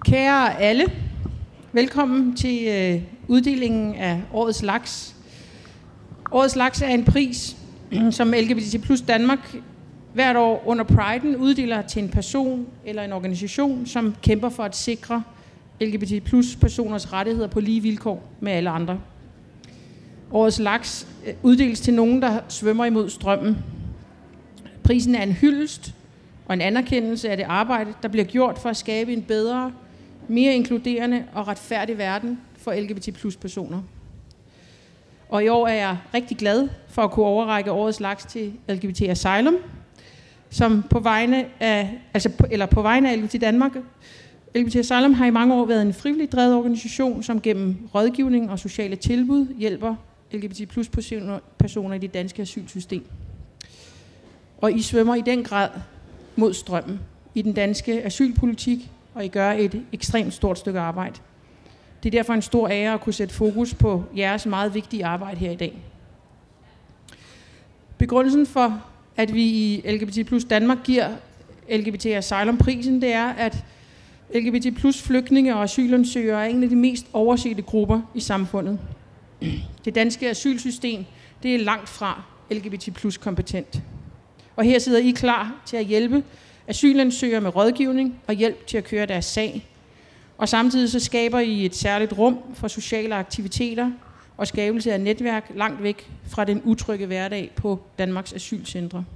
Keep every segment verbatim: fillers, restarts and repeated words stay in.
Kære alle, velkommen til øh, uddelingen af Årets Laks. Årets Laks er en pris, som L G B T plus Danmark hvert år under Priden uddeler til en person eller en organisation, som kæmper for at sikre L G B T plus personers rettigheder på lige vilkår med alle andre. Årets Laks uddeles til nogen, der svømmer imod strømmen. Prisen er en hyldest og en anerkendelse af det arbejde, der bliver gjort for at skabe en bedre, mere inkluderende og retfærdig verden for L G B T plus personer. Og i år er jeg rigtig glad for at kunne overrække Årets Laks til L G B T Asylum, som på vegne af, altså på, eller på vegne af L G B T Danmark. L G B T Asylum har i mange år været en frivilligt drevet organisation, som gennem rådgivning og sociale tilbud hjælper L G B T plus personer i det danske asylsystem. Og I svømmer i den grad mod strømmen i den danske asylpolitik, og I gør et ekstremt stort stykke arbejde. Det er derfor en stor ære at kunne sætte fokus på jeres meget vigtige arbejde her i dag. Begrundelsen for, at vi i L G B T plus Danmark giver L G B T Asylum-prisen, det er, at L G B T plus flygtninge og asylansøgere er en af de mest oversete grupper i samfundet. Det danske asylsystem, det er langt fra L G B T plus kompetent. Og her sidder I klar til at hjælpe asylansøgere med rådgivning og hjælp til at køre deres sag. Og samtidig så skaber I et særligt rum for sociale aktiviteter og skabelse af netværk langt væk fra den utrygge hverdag på Danmarks asylcentre.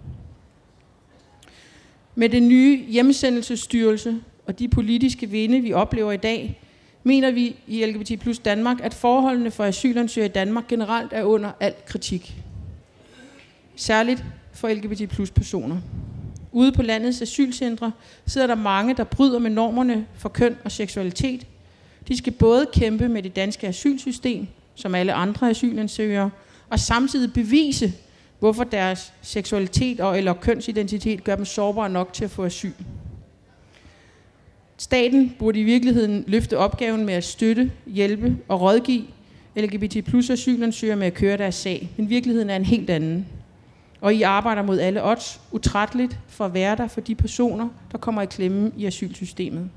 Med den nye hjemsendelsesstyrelse og de politiske vinde, vi oplever i dag, mener vi i L G B T plus Danmark, at forholdene for asylansøgere i Danmark generelt er under al kritik. Særligt for L G B T plus personer. Ude på landets asylcentre sidder der mange, der bryder med normerne for køn og seksualitet. De skal både kæmpe med det danske asylsystem, som alle andre asylansøgere, og samtidig bevise, hvorfor deres seksualitet og eller kønsidentitet gør dem sårbare nok til at få asyl. Staten burde i virkeligheden løfte opgaven med at støtte, hjælpe og rådgive L G B T plus asylansøgere med at køre deres sag, men virkeligheden er en helt anden. Og I arbejder mod alle odds utrætteligt for at være der for de personer, der kommer i klemme i asylsystemet.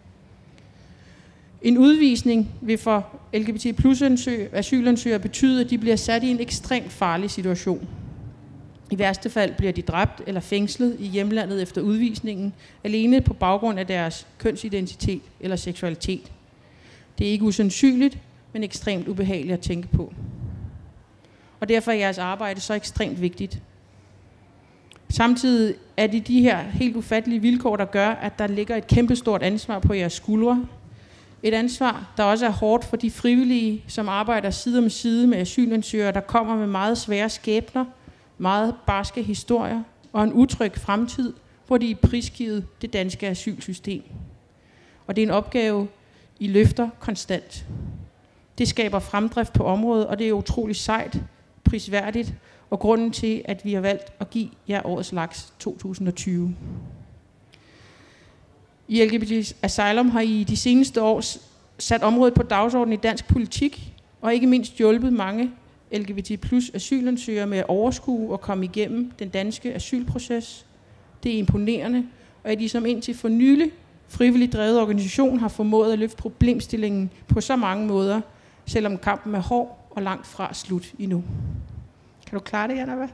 En udvisning vil for L G B T plus asylansøgere betyde, at de bliver sat i en ekstremt farlig situation. I værste fald bliver de dræbt eller fængslet i hjemlandet efter udvisningen, alene på baggrund af deres kønsidentitet eller seksualitet. Det er ikke usandsynligt, men ekstremt ubehageligt at tænke på. Og derfor er jeres arbejde så ekstremt vigtigt. Samtidig er det de her helt ufattelige vilkår, der gør, at der ligger et kæmpestort ansvar på jeres skuldre. Et ansvar, der også er hårdt for de frivillige, som arbejder side om side med asylansøgere, der kommer med meget svære skæbner, meget barske historier og en utryg fremtid, hvor de er prisgivet det danske asylsystem. Og det er en opgave, I løfter konstant. Det skaber fremdrift på området, og det er utroligt sejt, prisværdigt, og grunden til, at vi har valgt at give jer Årets Laks to tusind og tyve. I L G B T Asylum har I de seneste år sat området på dagsordenen i dansk politik, og ikke mindst hjulpet mange L G B T plus asylansøgere med at overskue og komme igennem den danske asylproces. Det er imponerende, og at I som indtil for nylig frivilligt drevet organisation har formået at løfte problemstillingen på så mange måder, selvom kampen er hård og langt fra slut endnu. Kan du klare det, Jana? Hvad?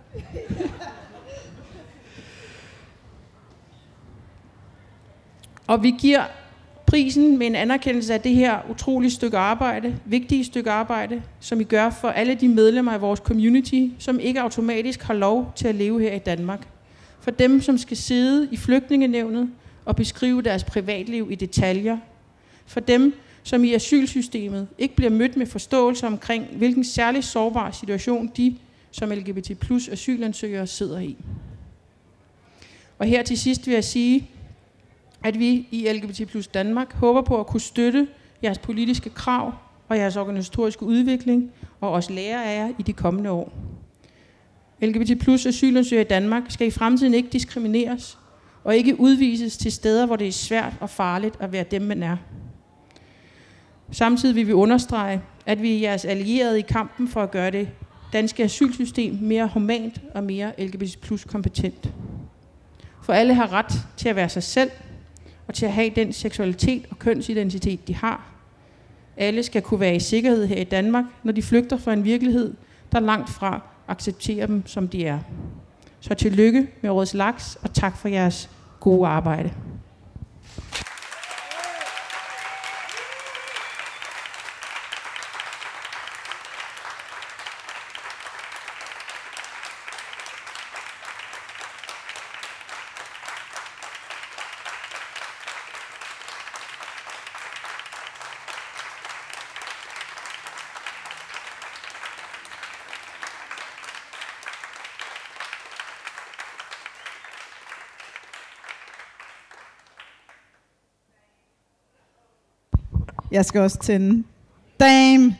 Og vi giver prisen med en anerkendelse af det her utrolige stykke arbejde, vigtige stykke arbejde, som I gør for alle de medlemmer af vores community, som ikke automatisk har lov til at leve her i Danmark. For dem, som skal sidde i flygtningenævnet og beskrive deres privatliv i detaljer. For dem, som i asylsystemet ikke bliver mødt med forståelse omkring, hvilken særlig sårbar situation de som L G B T plus asylansøgere sidder i. Og her til sidst vil jeg sige, at vi i L G B T plus Danmark håber på at kunne støtte jeres politiske krav og jeres organisatoriske udvikling, og også lære af jer i de kommende år. L G B T plus asylansøgere i Danmark skal i fremtiden ikke diskrimineres, og ikke udvises til steder, hvor det er svært og farligt at være dem, man er. Samtidig vil vi understrege, at vi er jeres allierede i kampen for at gøre det danske asylsystem mere humant og mere L G B T plus kompetent. For alle har ret til at være sig selv, og til at have den seksualitet og kønsidentitet, de har. Alle skal kunne være i sikkerhed her i Danmark, når de flygter fra en virkelighed, der langt fra accepterer dem, som de er. Så tillykke med Årets Laks, og tak for jeres gode arbejde. Jeg skal også tænde. Damn!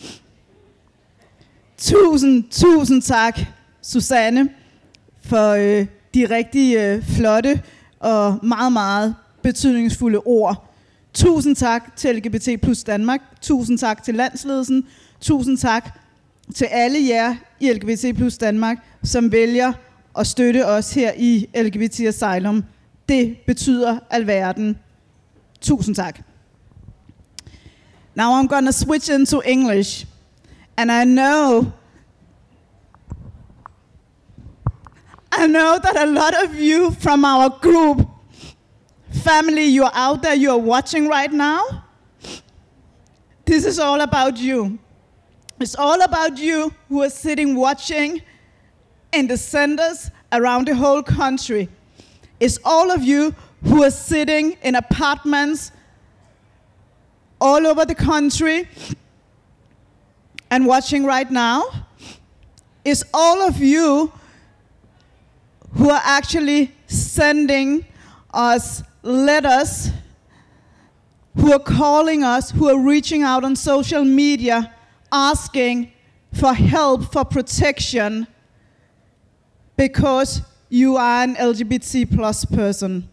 Tusind, tusind tak, Susanne, for øh, de rigtig øh, flotte og meget, meget betydningsfulde ord. Tusind tak til L G B T plus Danmark. Tusind tak til landsledelsen. Tusind tak til alle jer i L G B T plus Danmark, som vælger at støtte os her i L G B T Asylum. Det betyder alverden. Tusind tak. Now I'm gonna switch into English. And I know, I know that a lot of you from our group, family, you're out there, you're watching right now. This is all about you. It's all about you who are sitting watching in the centers around the whole country. It's all of you who are sitting in apartments all over the country and watching right now. Is all of you who are actually sending us letters, who are calling us, who are reaching out on social media, asking for help, for protection, because you are an L G B T plus person.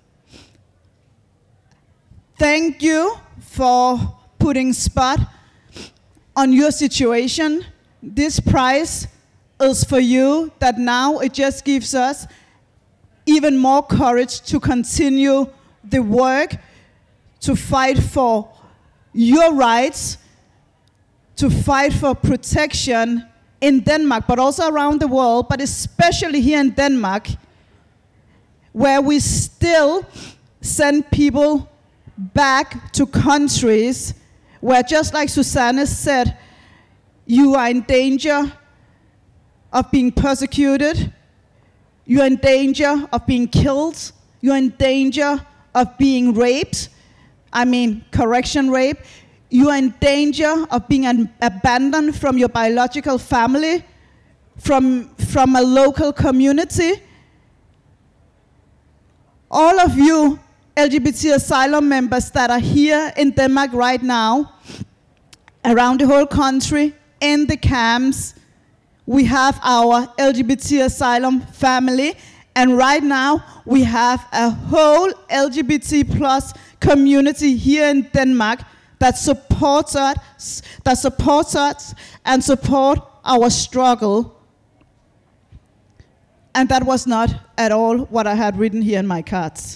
Thank you for putting spot on your situation. This prize is for you, that now it just gives us even more courage to continue the work, to fight for your rights, to fight for protection in Denmark, but also around the world, but especially here in Denmark, where we still send people back to countries where, just like Susanne said, you are in danger of being persecuted, you are in danger of being killed, you are in danger of being raped, I mean correction rape, you are in danger of being an- abandoned from your biological family, from, from a local community. All of you L G B T asylum members that are here in Denmark right now, around the whole country, in the camps, we have our L G B T asylum family, and right now we have a whole L G B T plus community here in Denmark that supports us, that supports us and support our struggle. And that was not at all what I had written here in my cards.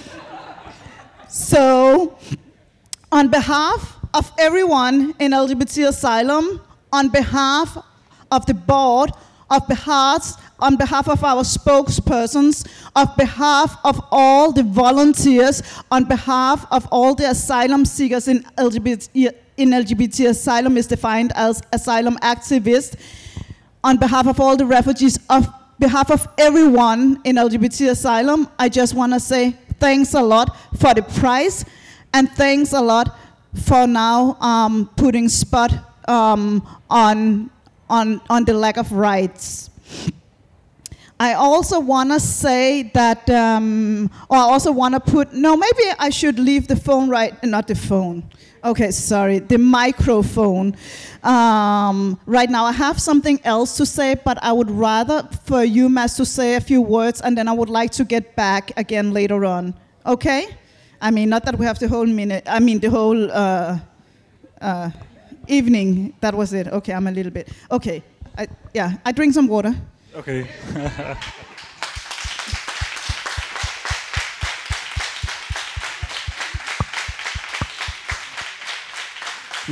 So, on behalf of everyone in L G B T Asylum, on behalf of the board, of behalf, on behalf of our spokespersons, on behalf of all the volunteers, on behalf of all the asylum seekers in L G B T, in L G B T Asylum is defined as asylum activists, on behalf of all the refugees, on behalf of everyone in L G B T Asylum, I just want to say thanks a lot for the prize, and thanks a lot for now um, putting spot um, on, on, on the lack of rights. I also want to say that, um, or I also want to put, no, maybe I should leave the phone right, not the phone. Okay, sorry, the microphone. Um, right now I have something else to say, but I would rather for you, Mads, to say a few words, and then I would like to get back again later on. Okay? I mean, not that we have the whole minute, I mean the whole uh, uh, evening. That was it. Okay, I'm a little bit. Okay, I, yeah, I drink some water. Okay.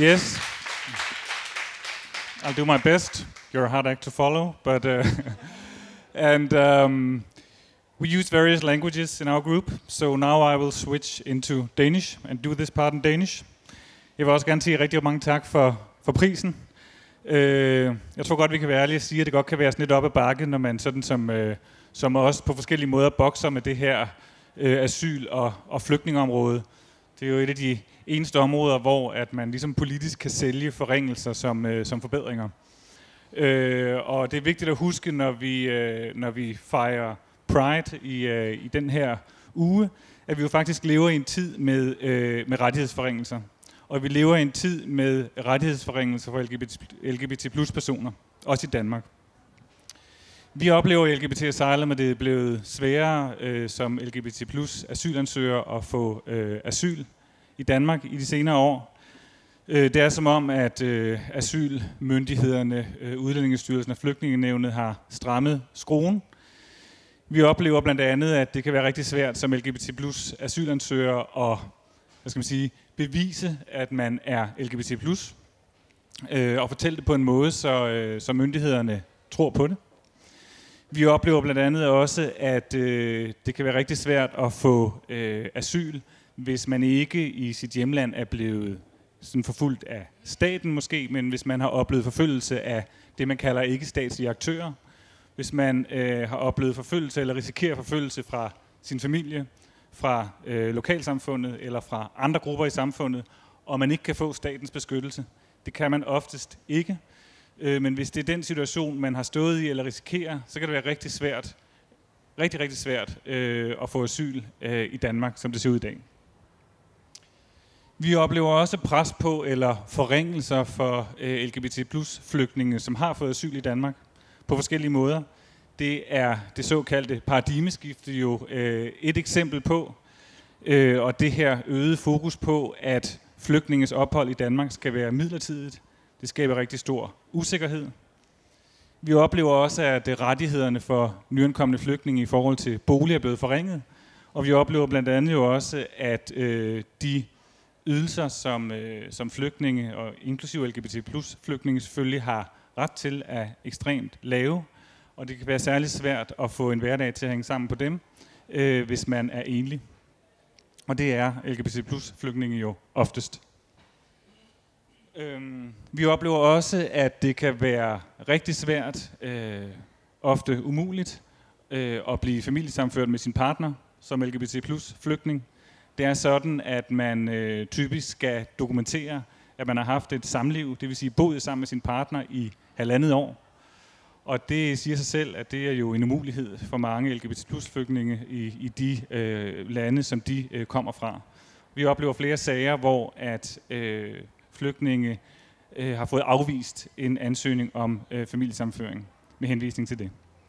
Yes. I'll do my best. You're a hard act to follow, but uh, and um, we use various languages in our group. So now I will switch into Danish and do this part in Danish. Jeg vil også gerne sige rigtig mange tak for for prisen. Uh, jeg tror godt vi kan være ærlige og sige, at det godt kan være sådan lidt op ad bakke, når man sådan som uh, som også på forskellige måder bokser med det her uh, asyl- og, og flygtningeområde. Det er jo et af de eneste områder, hvor at man ligesom politisk kan sælge forringelser som, øh, som forbedringer. Øh, og det er vigtigt at huske, når vi, øh, når vi fejrer Pride i, øh, i den her uge, at vi jo faktisk lever i en tid med, øh, med rettighedsforringelser. Og vi lever i en tid med rettighedsforringelser for L G B T, L G B T plus personer, også i Danmark. Vi oplever i L G B T Asylum, at det er blevet sværere øh, som L G B T plus asylansøger at få øh, asyl i Danmark i de senere år. Øh, det er som om, at øh, asylmyndighederne, øh, Udlændingestyrelsen og Flygtningenævnet har strammet skruen. Vi oplever blandt andet, at det kan være rigtig svært som L G B T plus asylansøger at hvad skal man sige, bevise, at man er L G B T plus, øh, og fortælle det på en måde, så, øh, så myndighederne tror på det. Vi oplever blandt andet også, at øh, det kan være rigtig svært at få øh, asyl, hvis man ikke i sit hjemland er blevet sådan forfulgt af staten måske, men hvis man har oplevet forfølgelse af det, man kalder ikke-statslige aktører. Hvis man øh, har oplevet forfølgelse eller risikerer forfølgelse fra sin familie, fra øh, lokalsamfundet eller fra andre grupper i samfundet, og man ikke kan få statens beskyttelse. Det kan man oftest ikke. Men hvis det er den situation, man har stået i eller risikerer, så kan det være rigtig svært, rigtig, rigtig svært øh, at få asyl øh, i Danmark, som det ser ud i dag. Vi oplever også pres på eller forringelser for øh, L G B T plus flygtninge, som har fået asyl i Danmark på forskellige måder. Det er det såkaldte paradigmeskifte jo øh, et eksempel på, øh, og det her øgede fokus på, at flygtninges ophold i Danmark skal være midlertidigt. Det skaber rigtig stor usikkerhed. Vi oplever også, at rettighederne for nyankomne flygtninge i forhold til bolig er blevet forringet. Og vi oplever blandt andet jo også, at øh, de ydelser, som, øh, som flygtninge, og inklusive L G B T plus flygtninge selvfølgelig har ret til, er ekstremt lave. Og det kan være særligt svært at få en hverdag til at hænge sammen på dem, øh, hvis man er enlig. Og det er L G B T plus flygtninge jo oftest. Øhm, vi oplever også, at det kan være rigtig svært, øh, ofte umuligt, øh, at blive familiesammenført med sin partner som L G B T plus flygtning. Det er sådan, at man øh, typisk skal dokumentere, at man har haft et samliv, det vil sige boet sammen med sin partner i halvandet år. Og det siger sig selv, at det er jo en umulighed for mange L G B T plus flygtninge i, i de øh, lande, som de øh, kommer fra. Vi oplever flere sager, hvor at øh, flygtninge øh, har fået afvist en ansøgning om øh, familiesammenføring med henvisning til det.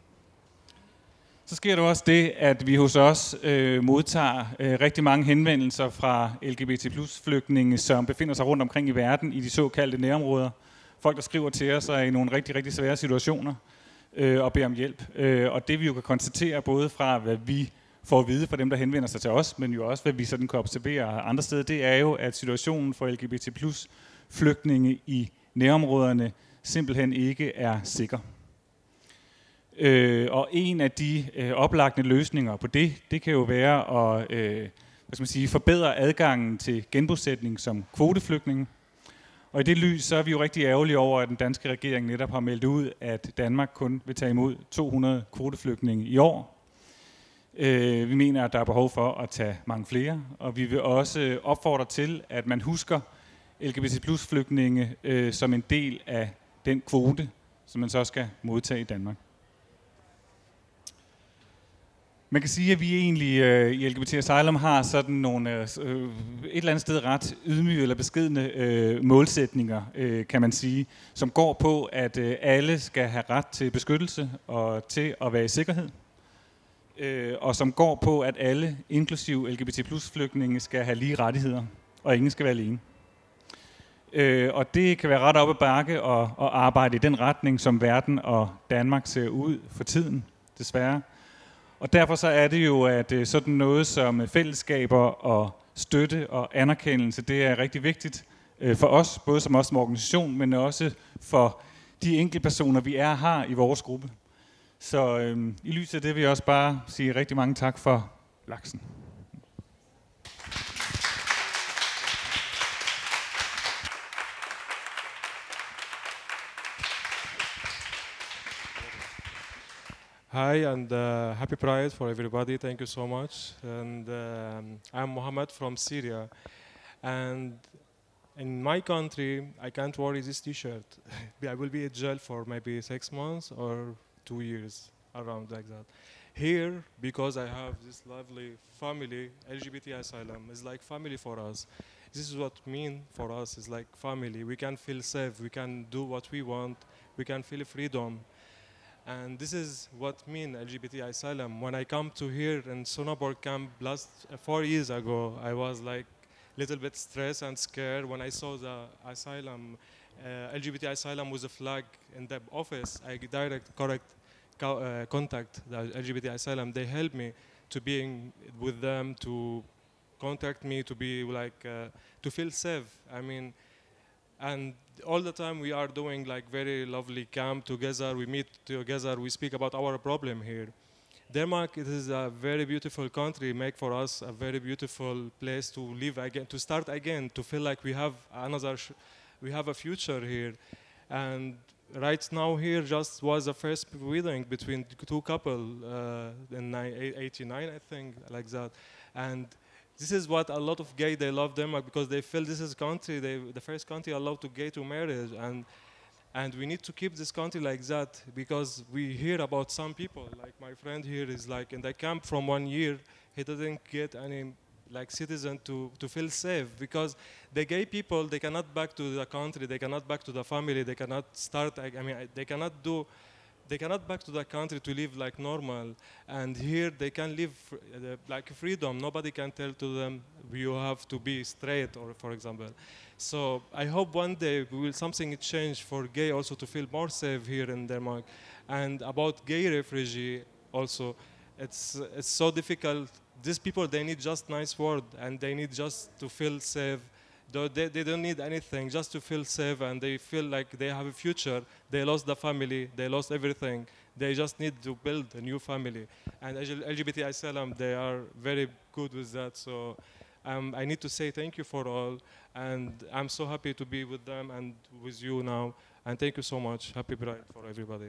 Så sker der også det, at vi hos os øh, modtager øh, rigtig mange henvendelser fra L G B T plus flygtninge, som befinder sig rundt omkring i verden i de såkaldte nærområder. Folk, der skriver til os, er i nogle rigtig, rigtig svære situationer øh, og beder om hjælp. Øh, og det vi jo kan konstatere, både fra hvad vi får at vide fra dem, der henvender sig til os, men jo også hvad vi sådan kan observere andre steder, det er jo, at situationen for L G B T plus flygtninge i nærområderne simpelthen ikke er sikker. Øh, og en af de øh, oplagte løsninger på det, det kan jo være at øh, hvad skal man sige, forbedre adgangen til genbosætning som kvoteflygtninge. Og i det lys, så er vi jo rigtig ærgerlige over, at den danske regering netop har meldt ud, at Danmark kun vil tage imod to hundrede kvoteflygtninge i år. Øh, vi mener, at der er behov for at tage mange flere, og vi vil også opfordre til, at man husker L G B T plus flygtninge øh, som en del af den kvote, som man så skal modtage i Danmark. Man kan sige, at vi egentlig øh, i L G B T Asylum har sådan nogle øh, et eller andet sted ret ydmyge eller beskedne øh, målsætninger, øh, kan man sige, som går på, at øh, alle skal have ret til beskyttelse og til at være i sikkerhed. Øh, og som går på, at alle, inklusive L G B T plus flygtninge, skal have lige rettigheder, og ingen skal være alene. Øh, og det kan være ret op ad bakke og, og arbejde i den retning, som verden og Danmark ser ud for tiden, desværre. Og derfor så er det jo, at sådan noget som fællesskaber og støtte og anerkendelse, det er rigtig vigtigt øh, for os, både som os som organisation, men også for de enkelte personer, vi er her i vores gruppe. Så øh, i lyset af det vil jeg også bare sige rigtig mange tak for laksen. Hi and uh, happy Pride for everybody. Thank you so much. And um, I'm Mohammed from Syria. And in my country, I can't wear this T-shirt. I will be in jail for maybe six months or two years, around like that. Here, because I have this lovely family, L G B T asylum is like family for us. This is what mean for us. It's like family. We can feel safe. We can do what we want. We can feel freedom. And this is what mean L G B T asylum. When I come to here in Sonneborg camp last uh, four years ago, I was like a little bit stressed and scared when I saw the asylum, uh, L G B T asylum with a flag in the office. I direct correct co uh, contact the L G B T asylum. They help me to being with them, to contact me, to be like uh, to feel safe. I mean. And all the time we are doing like very lovely camp together, we meet together, we speak about our problem here. Denmark, it is a very beautiful country, make for us a very beautiful place to live again, to start again, to feel like we have another, sh we have a future here. And right now here just was the first wedding between two couples uh, in eighty-nine, I think, like that. And this is what a lot of gay, they love Denmark because they feel this is country, they, the first country allowed to gay to marriage. And, and we need to keep this country like that because we hear about some people, like my friend here is like in the camp from one year, he didn't get any like citizen to, to feel safe because the gay people, they cannot back to the country, they cannot back to the family, they cannot start, I mean, they cannot do, they cannot back to the country to live like normal, and here they can live uh, like freedom. Nobody can tell to them you have to be straight, or for example. So I hope one day we will something change for gay also to feel more safe here in Denmark. And about gay refugee also, it's it's so difficult. These people, they need just nice word and they need just to feel safe. They, they don't need anything, just to feel safe, and they feel like they have a future. They lost the family, they lost everything. They just need to build a new family. And L G B T asylum, they are very good with that. So um, I need to say thank you for all. And I'm so happy to be with them and with you now. And thank you so much. Happy Pride for everybody.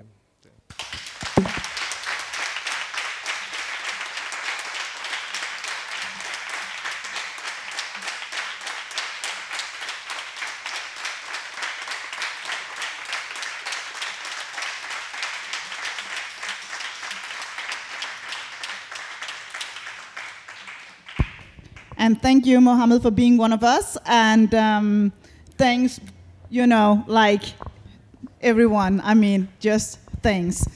And thank you, Mohammed, for being one of us. And um, thanks, you know, like everyone. I mean, just thanks.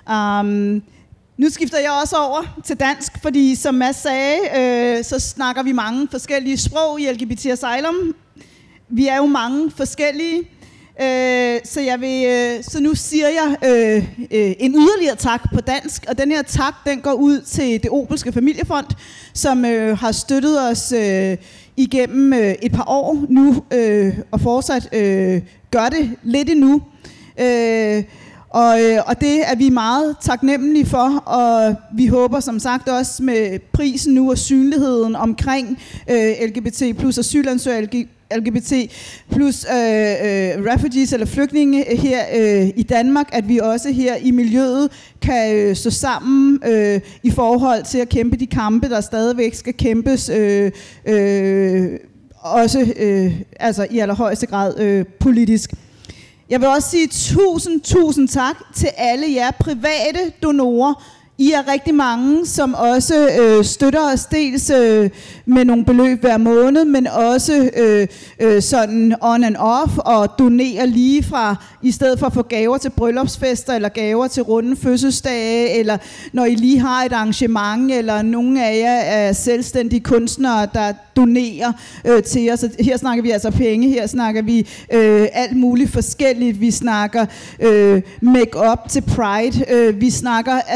Um, nu skifter jeg også over til dansk, fordi som Mads sagde, øh, så snakker vi mange forskellige sprog i L G B T Asylum. Vi er jo mange forskellige. Øh, så, jeg vil, øh, så nu siger jeg øh, øh, en yderligere tak på dansk, og den her tak, den går ud til Det Obelske Familiefond, som øh, har støttet os øh, igennem øh, et par år nu, øh, og fortsat øh, gør det lidt endnu. Øh, og, øh, og det er vi meget taknemmelige for, og vi håber som sagt også med prisen nu og synligheden omkring øh, L G B T plus asylansøgere, L G B T plus øh, øh, refugees eller flygtninge her øh, i Danmark, at vi også her i miljøet kan øh, stå sammen øh, i forhold til at kæmpe de kampe, der stadigvæk skal kæmpes, øh, øh, også øh, altså i allerhøjeste grad øh, politisk. Jeg vil også sige tusind, tusind tak til alle jer private donorer. I er rigtig mange, som også øh, støtter os dels øh, med nogle beløb hver måned, men også øh, øh, sådan on and off og donerer lige fra, i stedet for at få gaver til bryllupsfester eller gaver til runde fødselsdage, eller når I lige har et arrangement, eller nogle af jer er selvstændige kunstnere, der donerer øh, til os. Her snakker vi altså penge, her snakker vi øh, alt muligt forskelligt. Vi snakker øh, make-up til Pride, øh, vi snakker, altså, altså det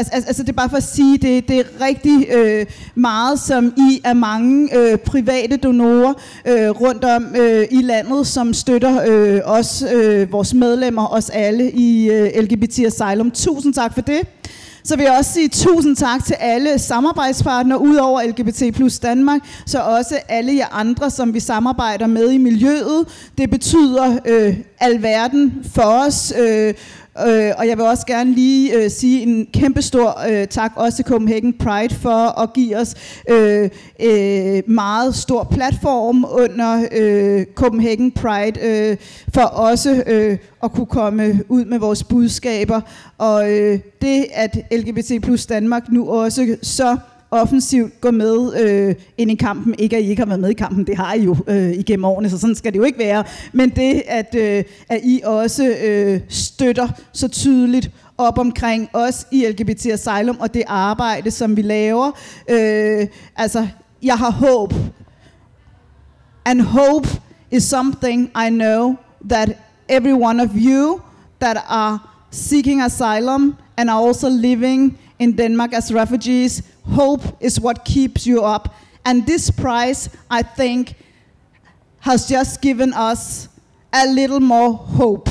er bare for at sige, det, det er rigtig øh, meget, som I er mange øh, private donorer øh, rundt om øh, i landet, som støtter øh, os, øh, vores medlemmer, os alle i øh, L G B T Asylum. Tusind tak for det. Så vil jeg også sige tusind tak til alle samarbejdspartnere udover L G B T plus Danmark, så også alle jer andre, som vi samarbejder med i miljøet. Det betyder øh, alverden for os. Øh, Øh, og jeg vil også gerne lige øh, sige en kæmpe stor øh, tak også til Copenhagen Pride for at give os øh, øh, meget stor platform under øh, Copenhagen Pride øh, for også øh, at kunne komme ud med vores budskaber. Og øh, det at L G B T plus Danmark nu også så offensivt går med øh, ind i kampen. Ikke at I ikke har været med i kampen, det har I jo øh, igennem årene, så sådan skal det jo ikke være. Men det, at, øh, at I også øh, støtter så tydeligt op omkring os i L G B T Asylum og det arbejde, som vi laver. Øh, altså, jeg har håb. And hope is something I know that every one of you that are seeking asylum and are also living in Denmark as refugees, hope is what keeps you up. And this prize, I think, has just given us a little more hope.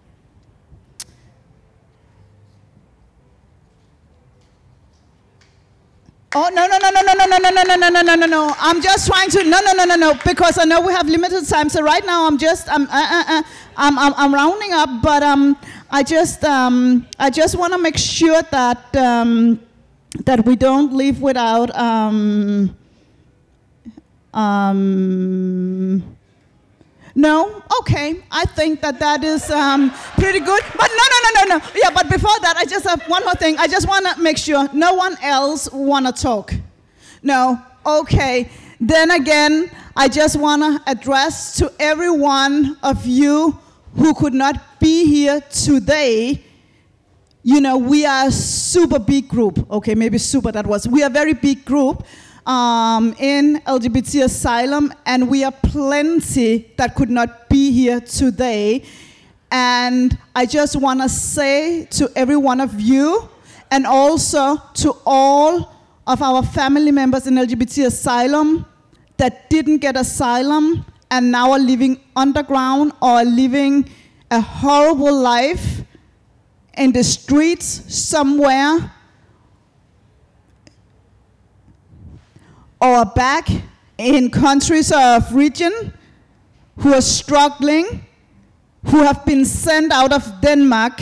Oh, no, no, no, no, no, no, no, no, no, no, no, no, no, no. I'm just trying to, no, no, no, no, no, because I know we have limited time. So right now I'm just, I'm, uh, uh, uh, I'm, I'm, I'm rounding up, but um, I just, um, I just want to make sure that, um, that we don't leave without, um, um, no? Okay, I think that that is um, pretty good. But no, no, no, no, no. Yeah, but before that, I just have one more thing. I just want to make sure no one else want to talk. No? Okay. Then again, I just want to address to every one of you who could not be here today. You know, we are a super big group. Okay, maybe super, that was. We are a very big group. Um, in L G B T Asylum, and we are plenty that could not be here today. And I just want to say to every one of you, and also to all of our family members in L G B T Asylum that didn't get asylum and now are living underground or are living a horrible life in the streets somewhere, or back in countries of region who are struggling, who have been sent out of Denmark.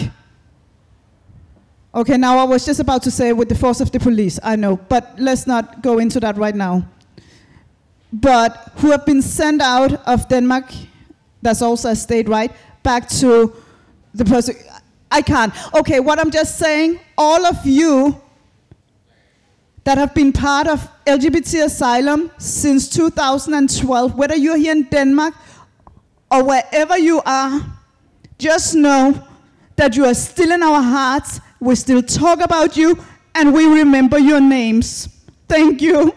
Okay, now I was just about to say with the force of the police, I know, but let's not go into that right now. But who have been sent out of Denmark, that's also a state, right, back to the person, I can't. Okay, what I'm just saying, all of you that have been part of L G B T Asylum since two thousand twelve, whether you're here in Denmark or wherever you are, just know that you are still in our hearts, we still talk about you, and we remember your names. Thank you.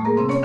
Thank you.